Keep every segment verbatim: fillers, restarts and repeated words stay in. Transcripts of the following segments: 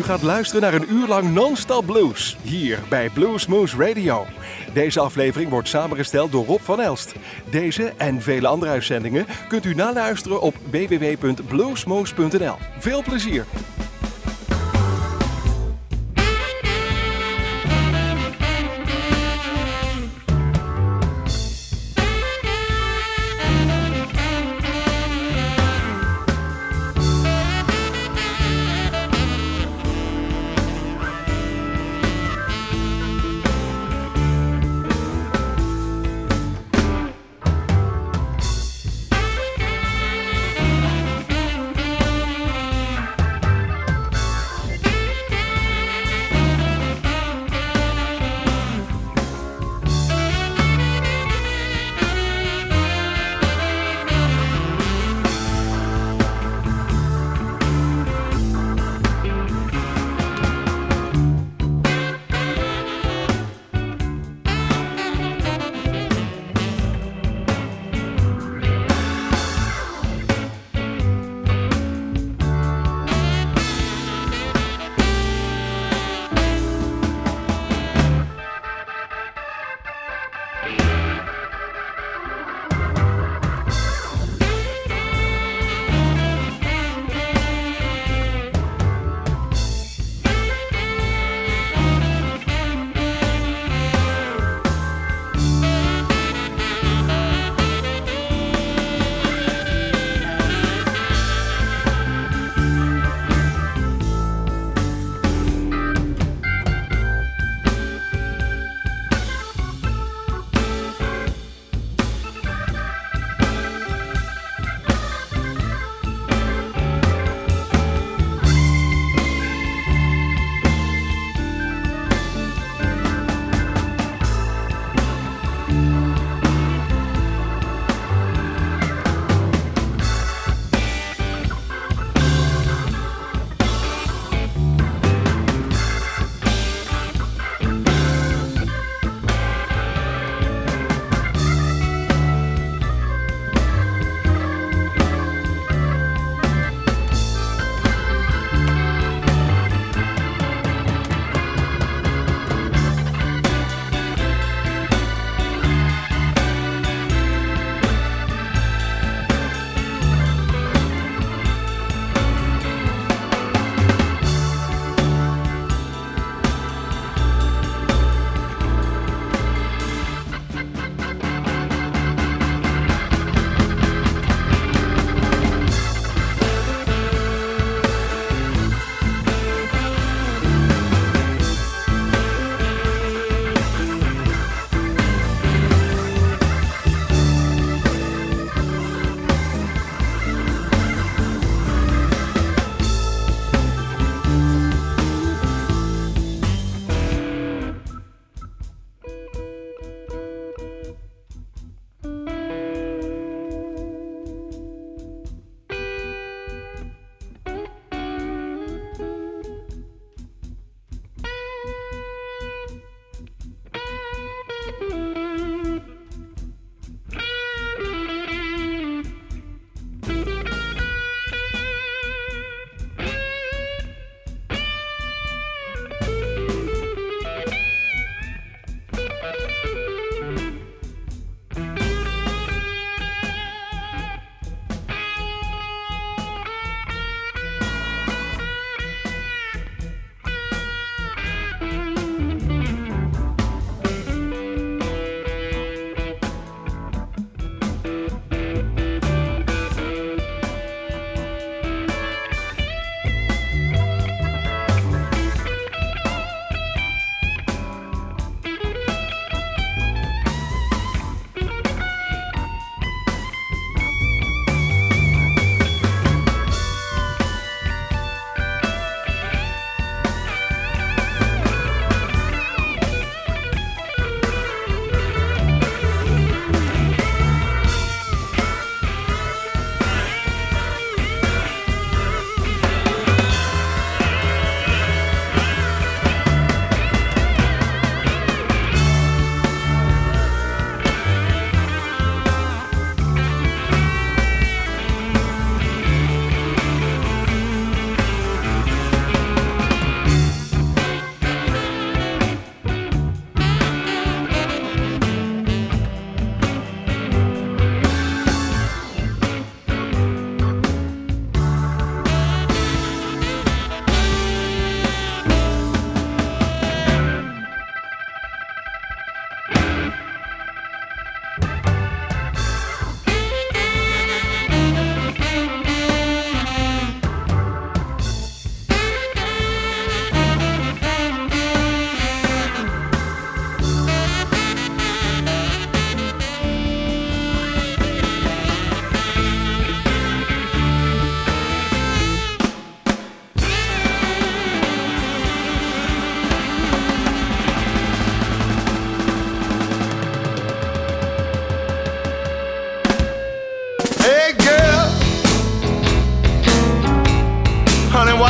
U gaat luisteren naar een uur lang non-stop blues, hier bij Bluesmoose Radio. Deze aflevering wordt samengesteld door Rob van Elst. Deze en vele andere uitzendingen kunt u naluisteren op w w w punt bluesmoose punt n l. Veel plezier!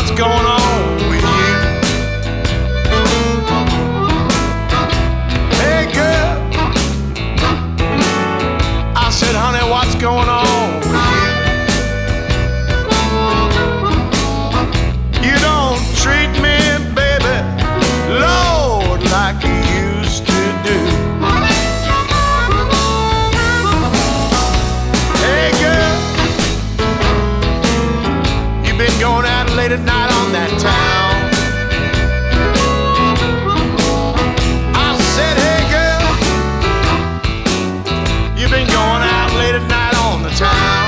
what's going on with you. Hey girl, I said, honey, what's going on with you? You don't treat me, baby, Lord, like you used to do. Hey girl, you've been going out late at night on that town. I said, hey girl, you've been going out late at night on the town.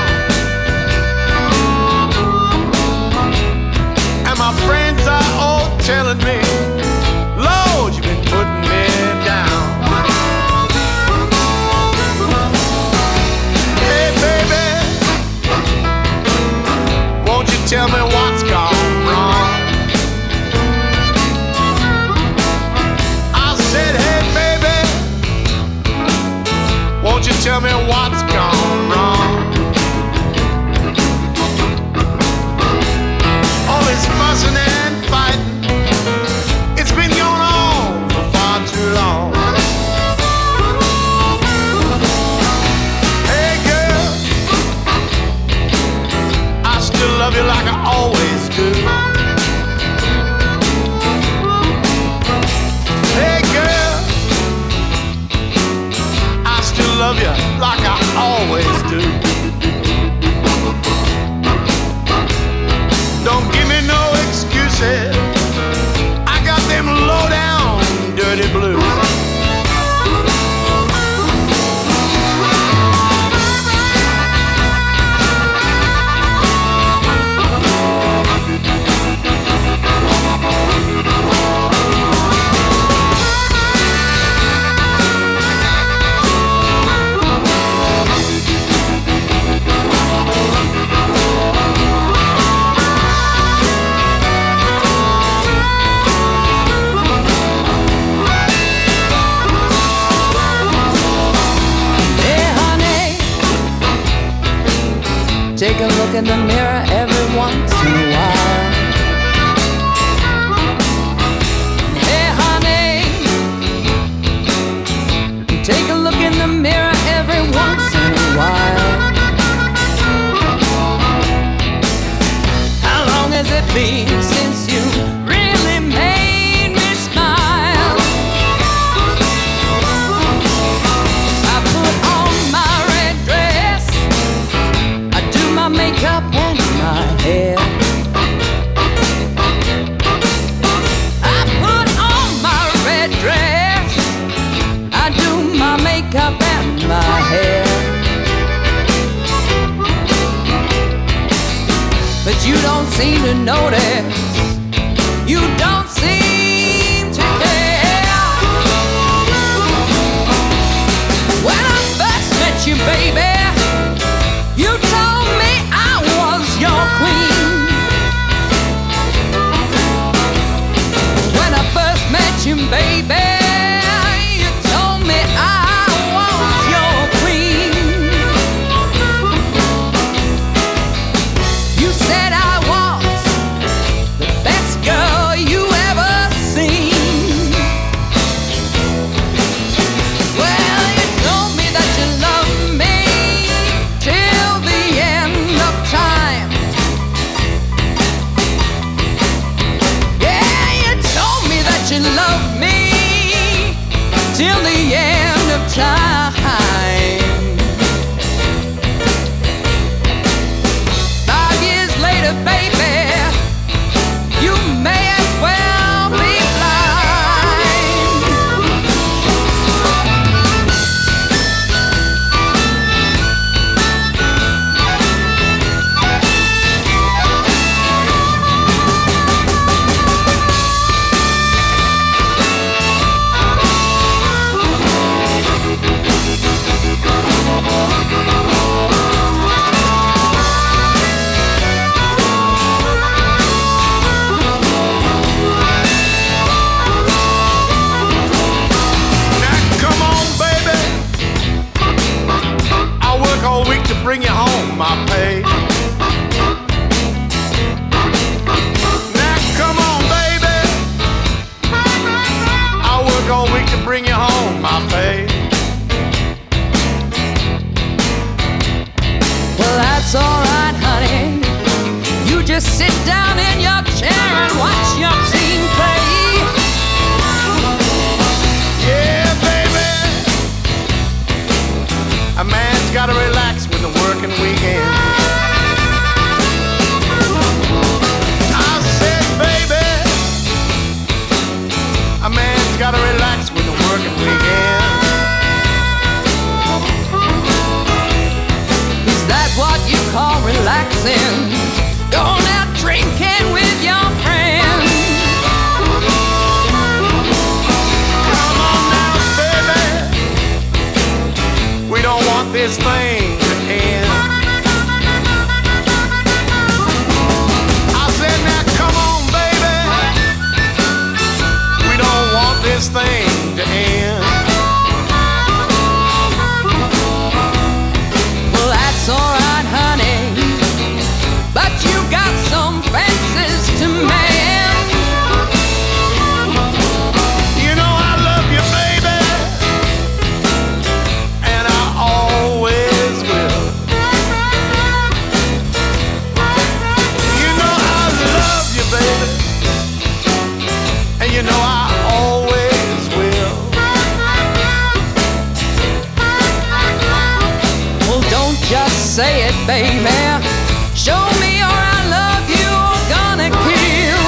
And my friends are all telling me, Lord, you've been putting me down. Hey baby, won't you tell me what's gone wrong? I said, hey baby, won't you tell me what's gone wrong? All this fussing and fighting, it's been going on for far too long. Hey girl, I still love you like I always do. Hey girl, I still love you like I always do. Don't give me no excuses, I got them low down dirty blues. Take a look in the mirror every once in a while. Hey honey, take a look in the mirror every once in a while. How long has it been since you really made me smile? I put on my red dress, I do my makeup and my hair. I put on my red dress, I do my makeup and my hair. But you don't seem to notice, you don't seem to care. When I first met you, baby, you told me I was your queen. When I first met you, baby, you told me I was your queen. You said I was the best girl you just sit down in your chair and watch your team play. Yeah, baby, a man's gotta relax with the working weekend. I said, baby, a man's gotta relax with the working weekend. Is that what you call relaxing? Going out drinking with your friends. Come on now, baby, we don't want this thing to end. I said, now come on, baby, we don't want this thing to end. Well, that's alright, honey, but you got some fences to mend. You know I love you, baby, and I always will. You know I love you, baby, and you know I always will. Well, don't just say it, baby. Show me or I love you or gonna kill.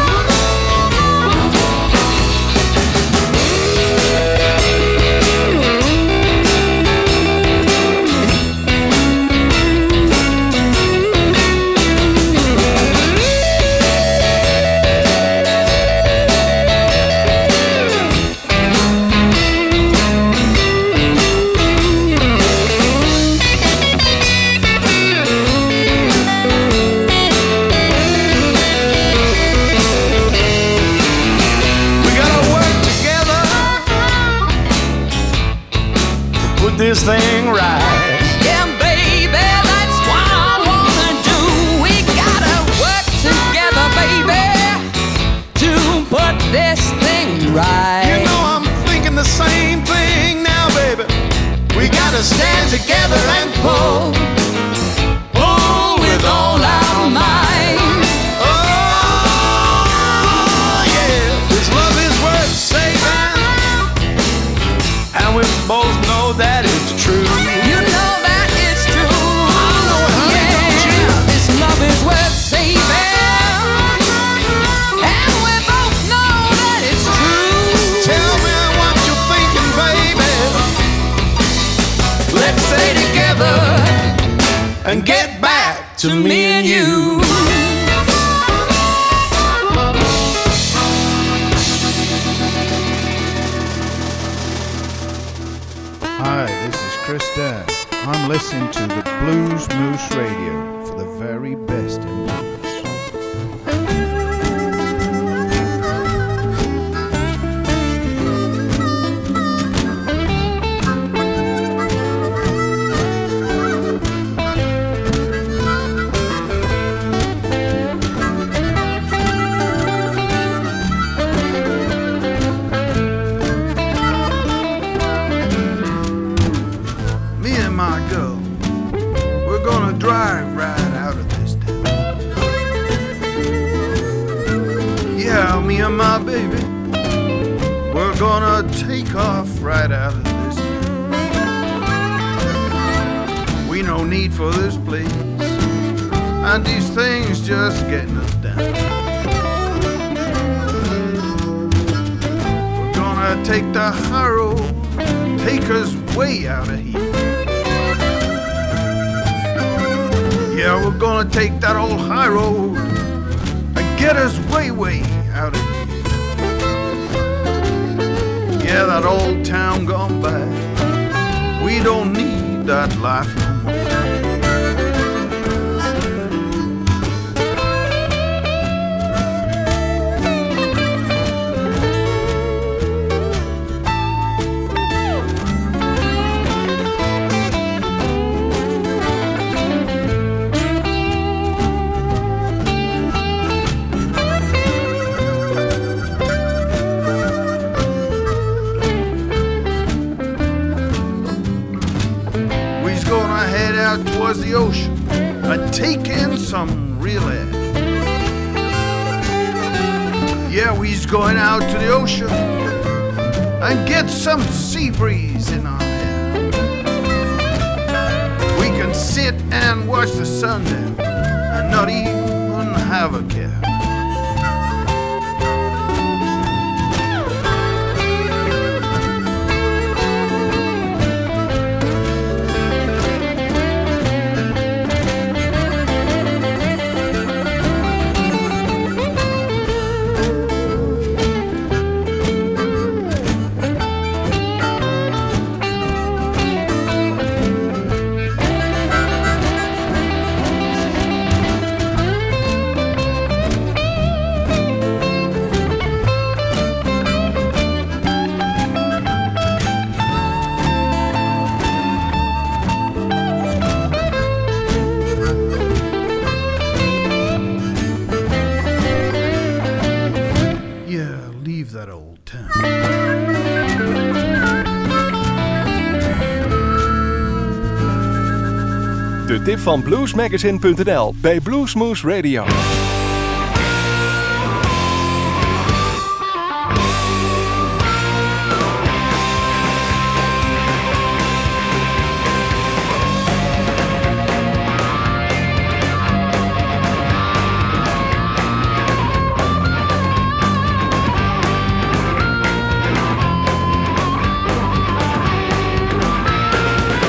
We gotta work together to put this thing right. Yeah, baby, that's what I wanna do. We gotta work together, baby, to put this thing right. You know I'm thinking the same thing now, baby. We gotta stand together and pull, pull with all our might. Oh yeah, this love is worth saving, and we both know that it's true. You know that it's true. I know it, honey, don't you? Yeah, this love is worth saving, and we both know that it's true. Tell me what you're thinking, baby. Let's stay together and get back to me and you. Hi, this is Chris Dan. I'm listening to the Blues Moose Radio for the very best in blues. Me and my girl, we're gonna drive right out of this town. Yeah, me and my baby, we're gonna take off right out of this town. We no need for this place, and these things just getting us down. We're gonna take the high road, take us way out of here. Yeah, we're gonna take that old high road and get us way, way out of here. Yeah, that old town gone by, we don't need that life no more. We's gonna head out towards the ocean and take in some real air. Yeah, we's going out to the ocean and get some sea breeze in our hair. We can sit and watch the sun down and not even have a care. De tip van bluesmagazine punt n l bij Bluesmoose Radio.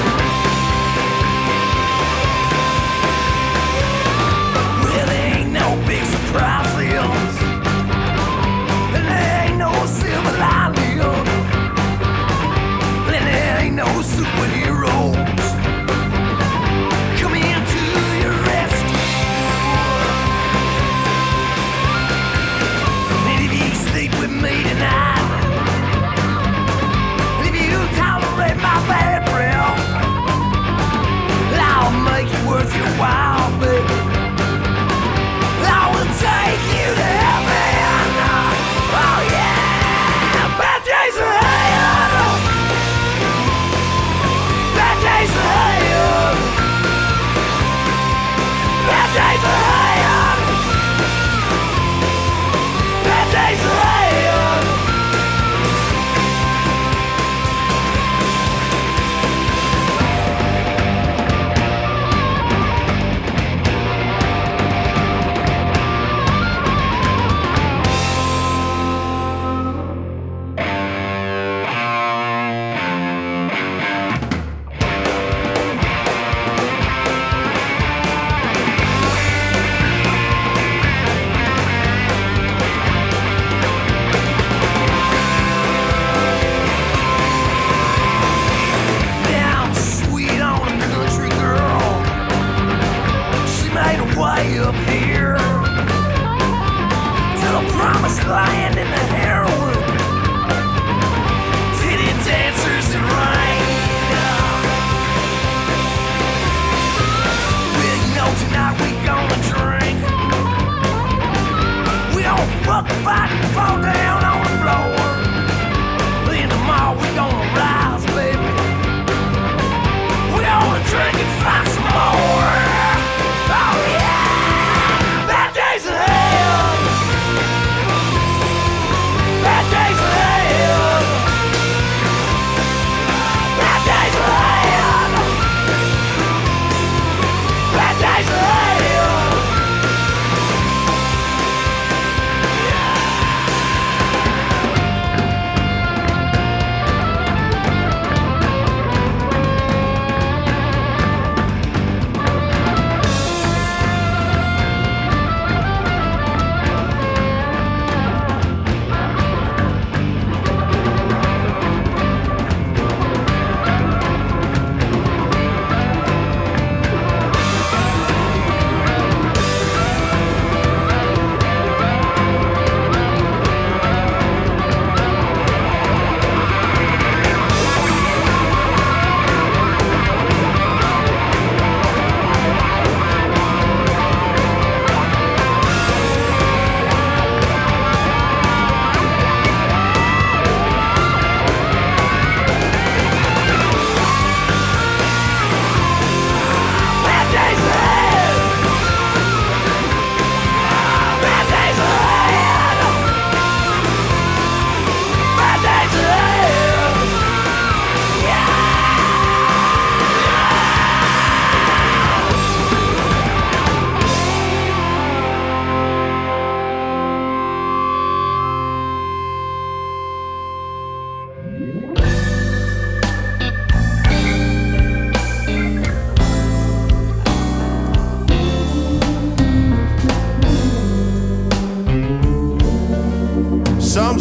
Well, there ain't no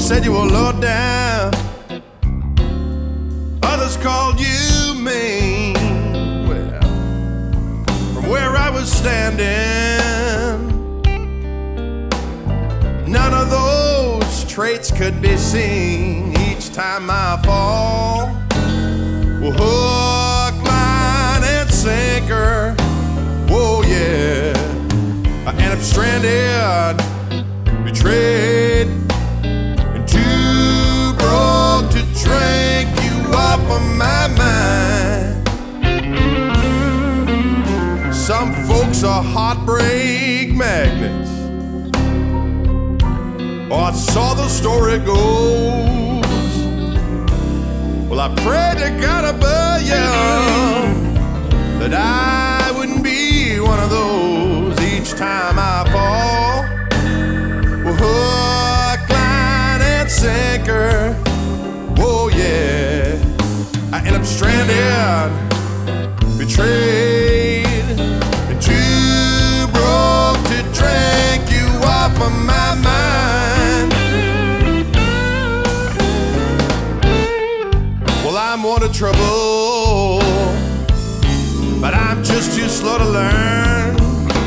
said you were low down. Others called you mean. Well, from where I was standing, none of those traits could be seen. Each time I fall, well, hook, line, and sinker. Whoa, yeah. I end up stranded, betrayed, and too broke to drink you off of my mind. Some folks are heartbreak magnets. Oh, that's how the story goes. Well, I prayed to God above you that I wouldn't be one of those. Each time I fall, well, hook, line, and sinker. Whoa, yeah. I end up stranded, betrayed, and too broke to drink you off of my mind. Well, I'm one of trouble, but I'm just too slow to learn.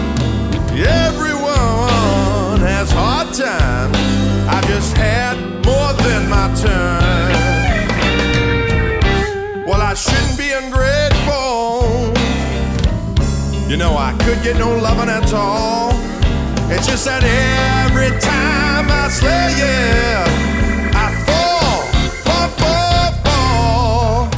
Everyone has hard times. I've just had more than my turn. Well, I shouldn't be ungrateful. You know, I could get no loving at all. It's just that every time I slay, yeah, I fall, fall, fall, fall.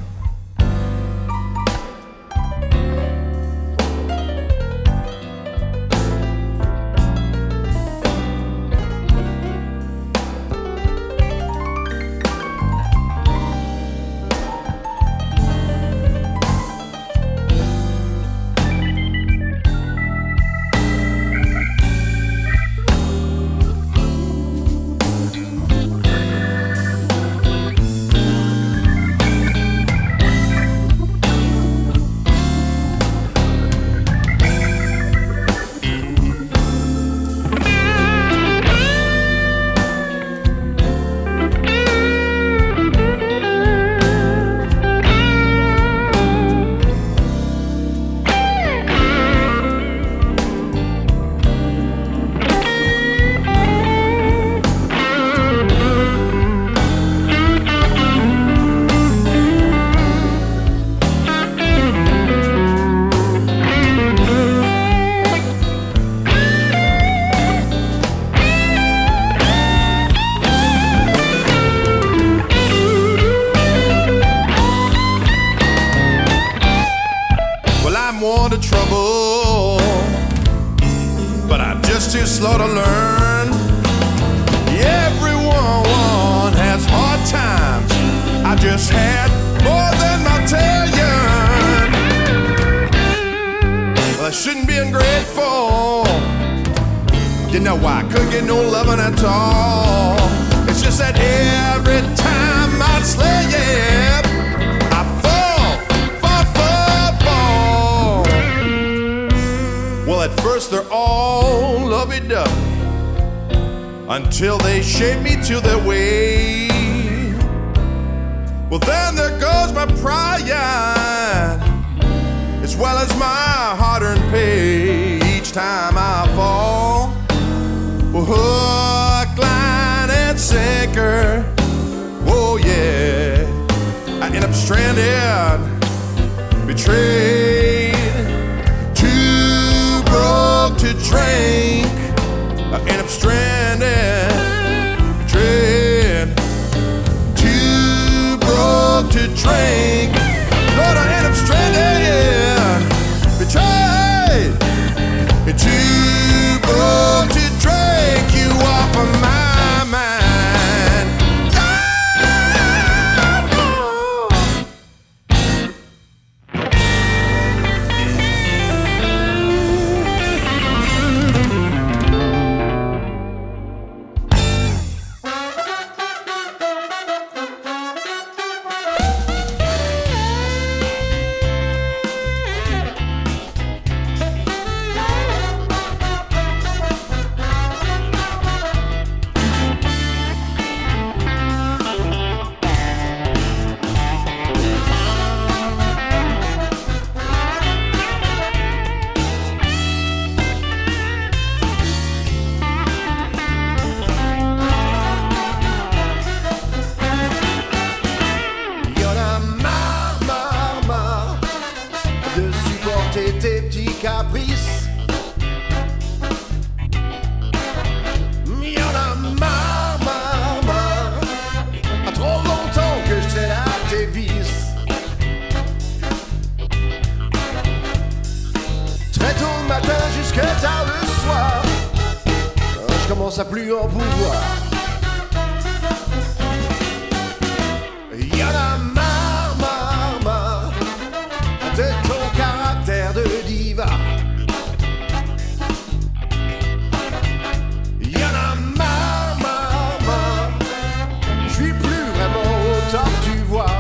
Slow to learn. Everyone has hard times. I just had more than my telling. Well, I shouldn't be ungrateful. You know, I could get no loving at all. It's just that every time I slay, yeah, I fall, fall, fall, fall. Well, at first they're all lovey-dovey until they shape me to their way. Well, then there goes my pride, as well as my hard-earned pay. Each time I fall, well, hook, line, and sinker. Oh, yeah. I end up stranded, betrayed, too broke to drink. I end up stranded, betrayed, too broke to drink. Lord, I end up stranded, betrayed, and too broke to drink you off of my mind. commence à plus en pouvoir. Y'en a marre, marre, marre de ton caractère de diva. Y'en a marre, marre, marre, je suis plus vraiment au top, tu vois.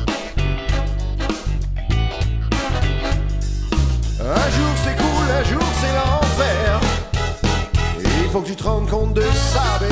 Un jour c'est cool, un jour c'est l'enfer. Il faut que tu te rendes compte de ça, bébé.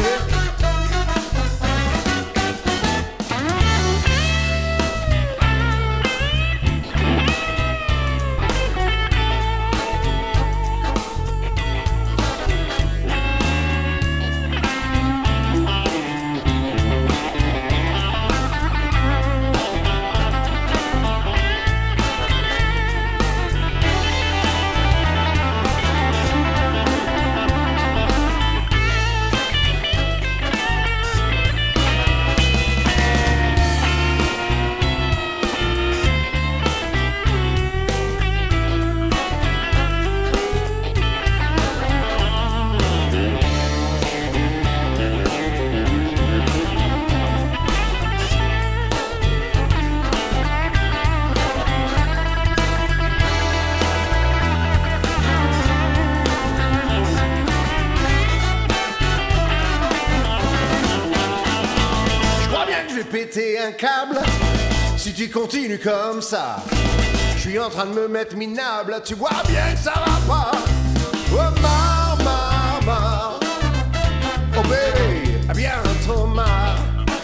Péter un câble si tu continues comme ça. Je suis en train de me mettre minable, tu vois bien que ça va pas. Oh marre, marre, marre. Oh bébé, bientôt marre.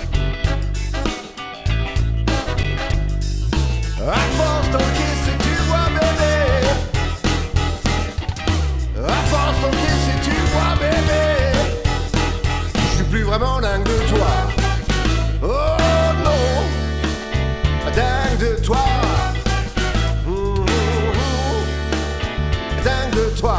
À force d'encaisser, tu vois bébé. À force d'encaisser, tu vois bébé. Je suis plus vraiment dingue de toi. Oh non, dingue de toi. Mmh, mmh, dingue de toi.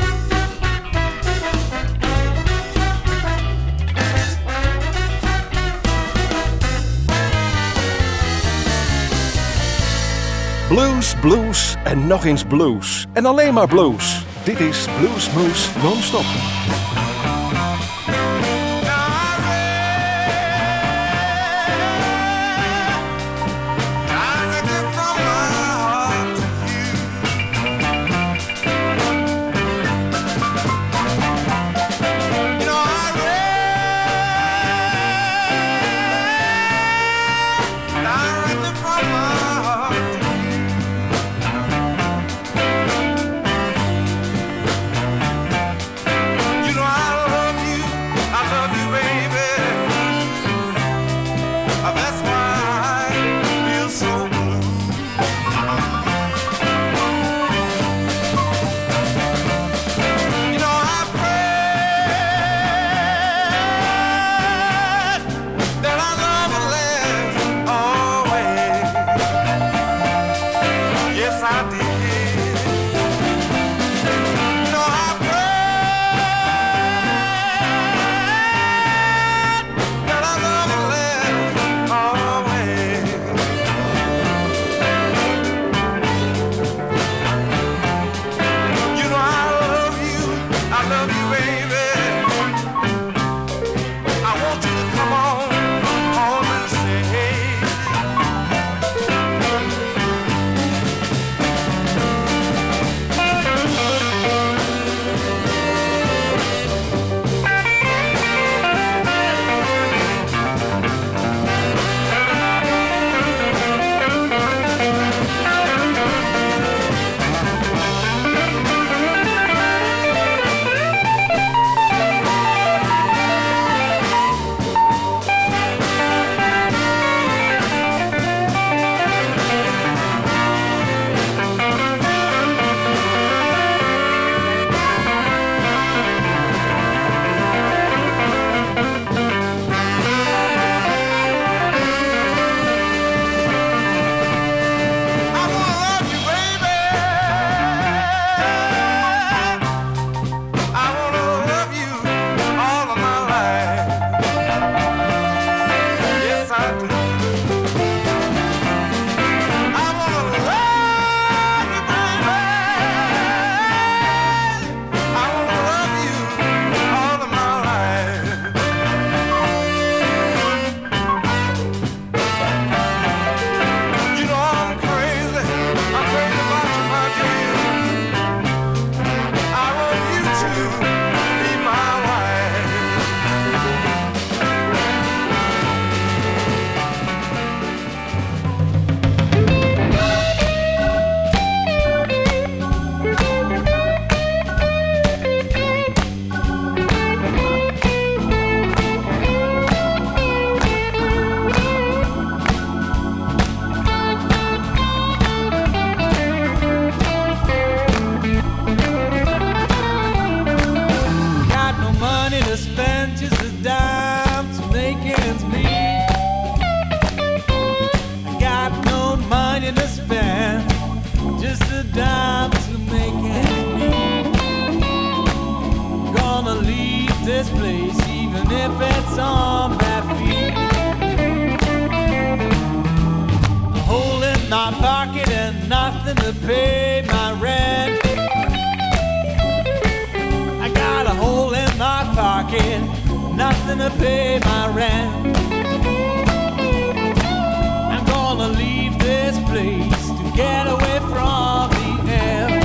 Blues, blues en nog eens blues. En alleen maar blues. Dit is Blues Moose Non-Stop. You know this place, even if it's on bad feet. A hole in my pocket and nothing to pay my rent. I got a hole in my pocket, nothing to pay my rent. I'm gonna leave this place to get away from the air.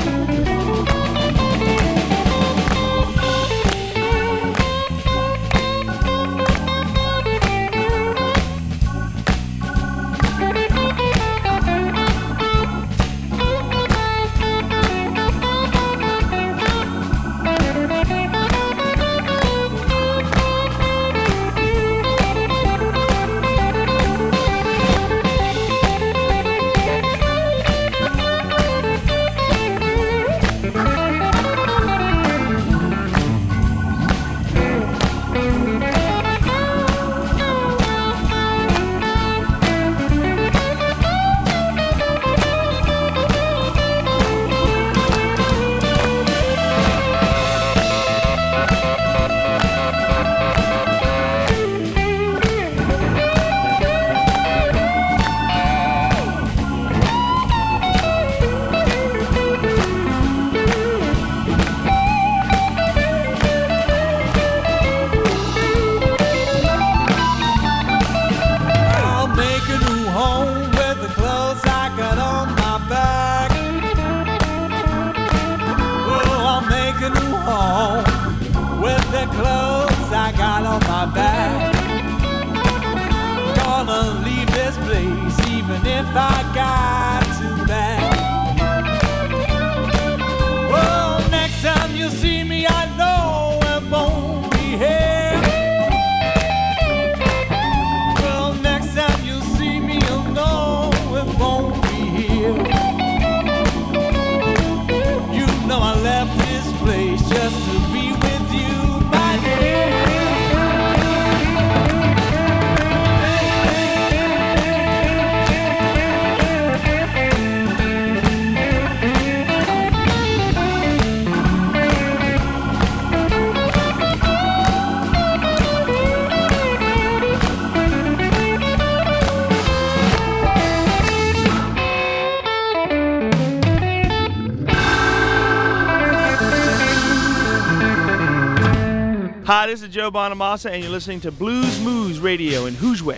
Hi, this is Joe Bonamassa, and you're listening to Blues Moose Radio in Hoosway.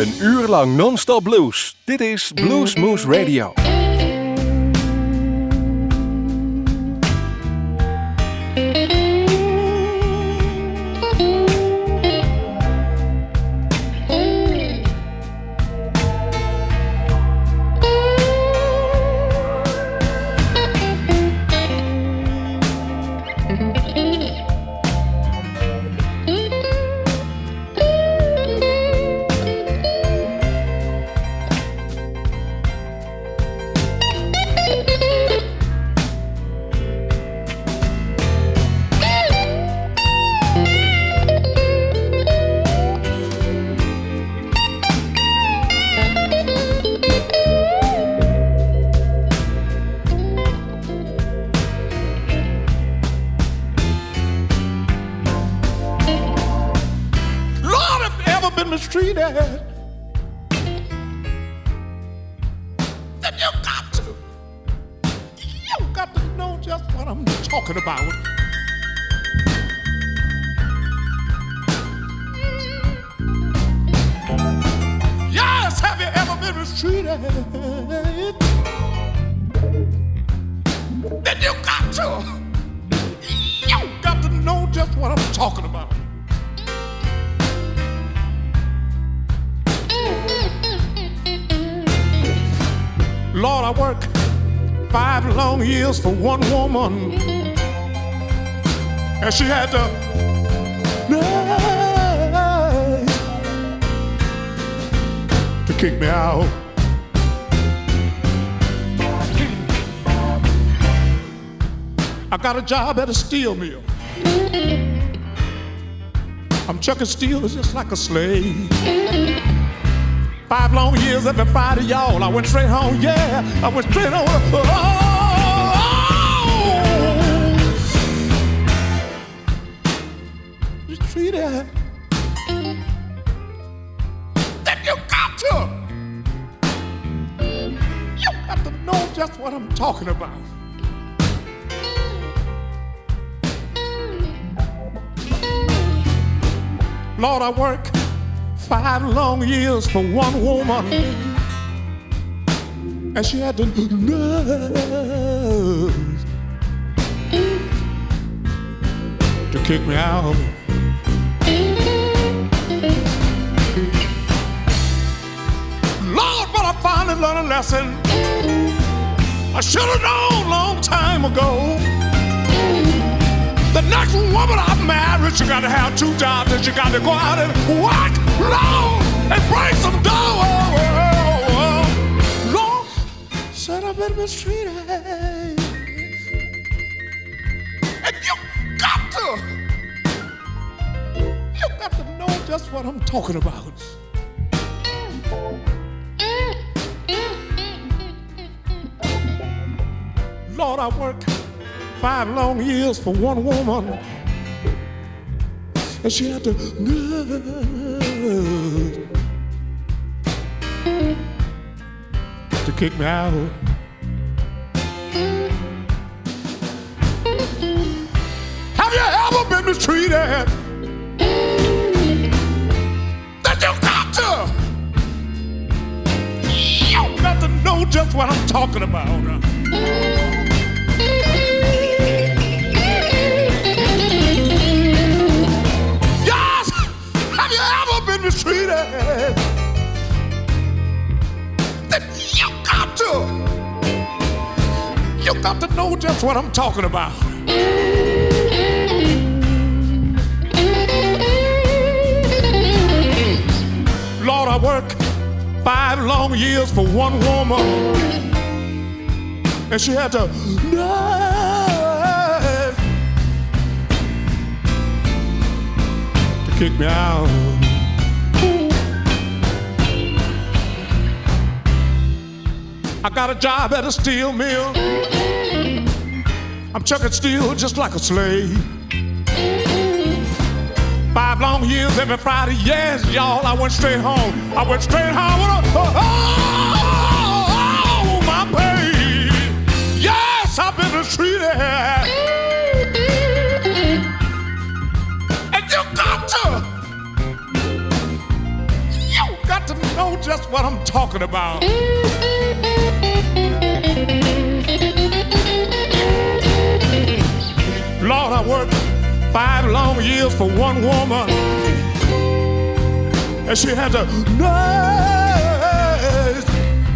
Een uur lang non-stop blues. Dit is Blues Moose Radio. Mistreated, then you got to, you got to know just what I'm talking about. Yes, have you ever been mistreated? Then you got to, you got to know just what I'm talking about. Lord, I worked five long years for one woman, and she had to to kick me out. I got a job at a steel mill. I'm chucking steel just like a slave. Five long years every Friday, y'all. I went straight home, yeah. I went straight home. Oh, oh. You treat it. Then you got to. You got to know just what I'm talking about. Lord, I work five long years for one woman, and she had the nerve to kick me out. Lord, but I finally learned a lesson I should have known a long time ago. The next woman I married, she got to have two jobs, and she got to go out and work, Lord, and bring some dough. Lord, said I've been mistreated, and you got to, you got to know just what I'm talking about. Lord, I work five long years for one woman, and she had to to kick me out. Have you ever been mistreated? Then you got to, you got to know just what I'm talking about. Mistreated, then you got to, you got to know just what I'm talking about. Lord, I worked five long years for one woman, and she had to nurse to kick me out. I got a job at a steel mill. I'm chucking steel just like a slave. Five long years every Friday, yes, y'all. I went straight home. I went straight home with a, oh, oh, oh, my pay. Yes, I've been mistreated. And you got to, you got to know just what I'm talking about. Lord, I worked five long years for one woman, and she had the nerve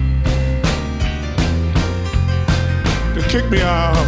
to kick me out.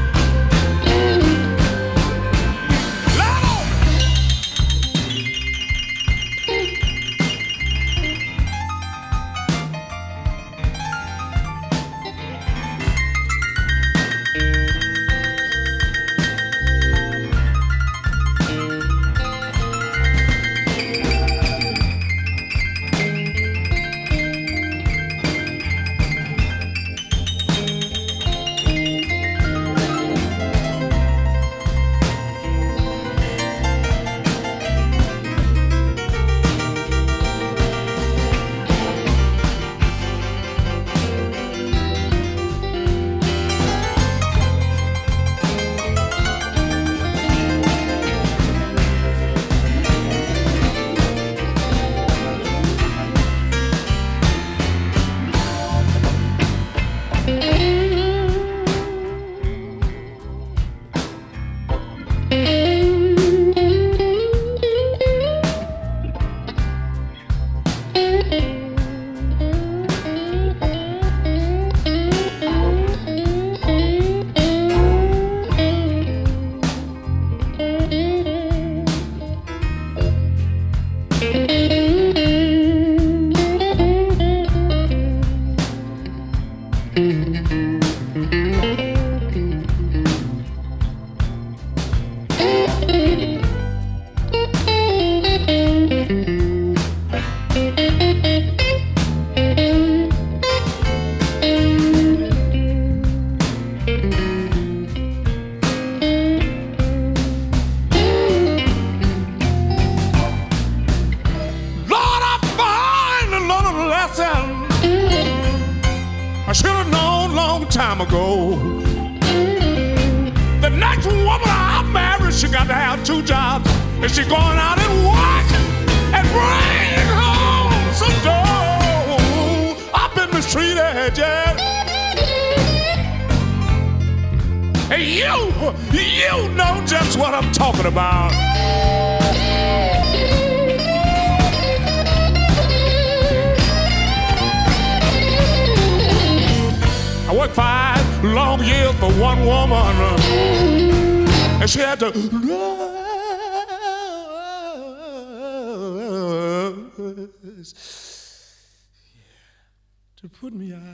To put me out.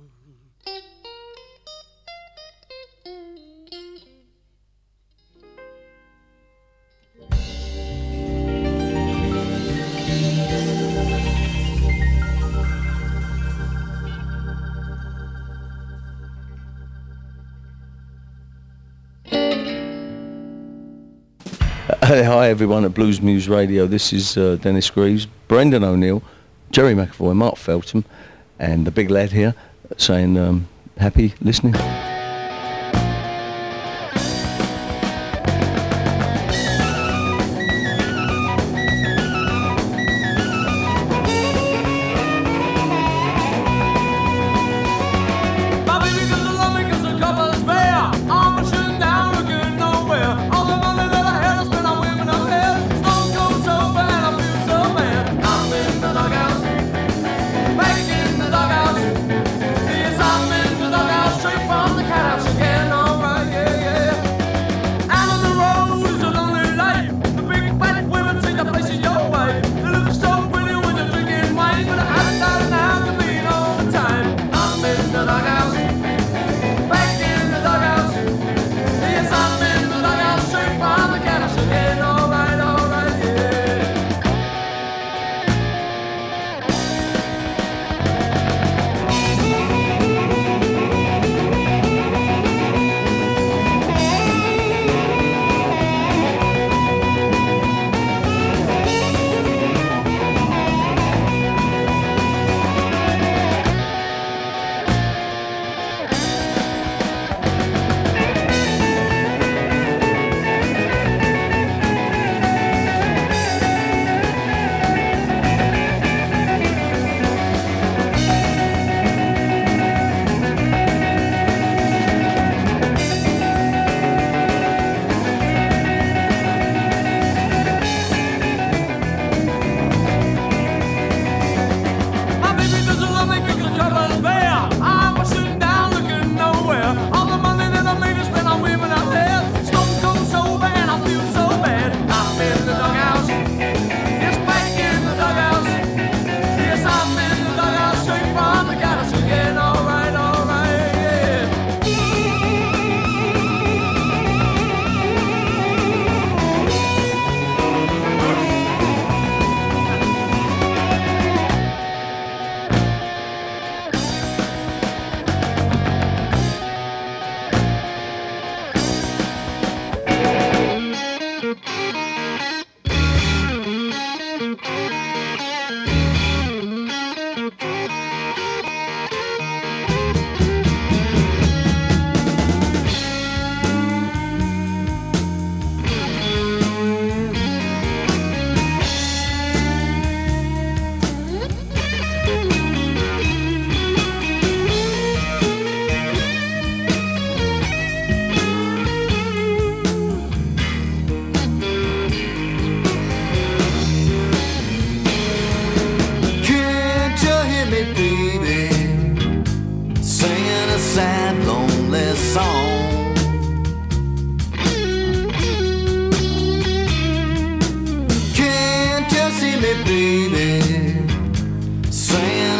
Hi everyone at Blues Moose Radio. This is uh, Dennis Greaves, Brendan O'Neill, Jerry McAvoy, Mark Feltham, and the big lad here saying um, happy listening. From the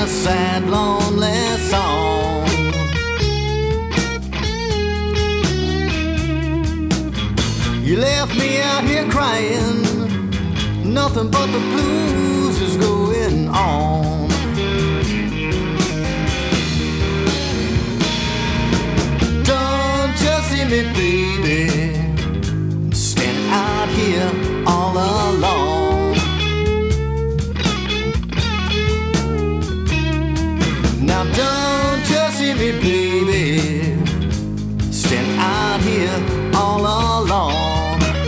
a sad, lonely song. You left me out here crying, nothing but the blues is going on. Don't you see me, baby, standing out here all alone. Now don't you see me, baby, standing out here all alone.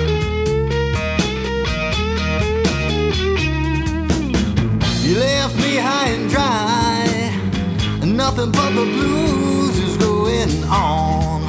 You left me high and dry, and nothing but the blues is going on.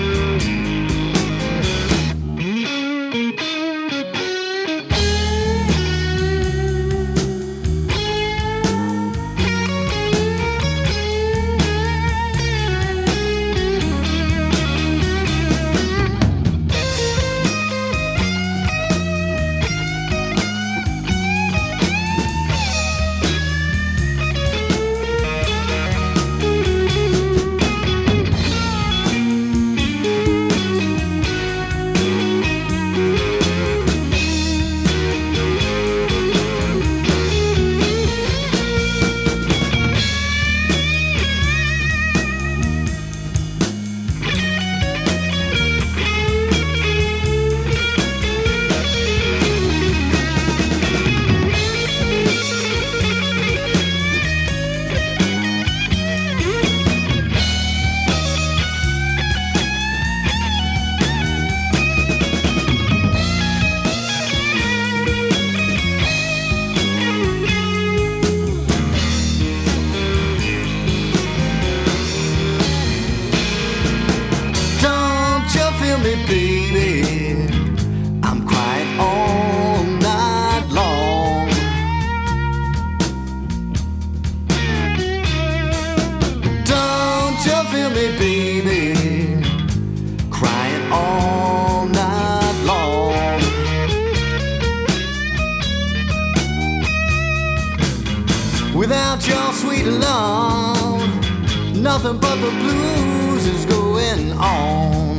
Without your sweet love, nothing but the blues is going on.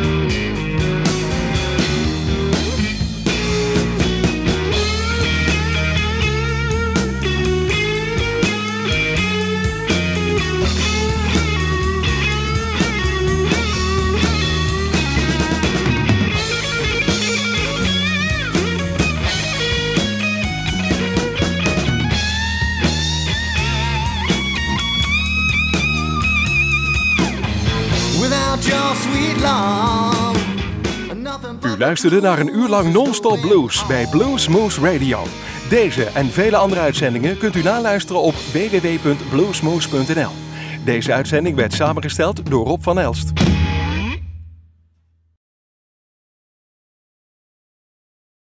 U luisterde naar een uur lang non-stop blues bij Blues Moose Radio. Deze en vele andere uitzendingen kunt u naluisteren op w w w punt bluesmoose punt n l. Deze uitzending werd samengesteld door Rob van Elst.